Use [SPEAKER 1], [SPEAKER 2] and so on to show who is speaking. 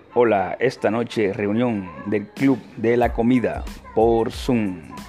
[SPEAKER 1] Hola, esta noche reunión del Club de la Comida por Zoom.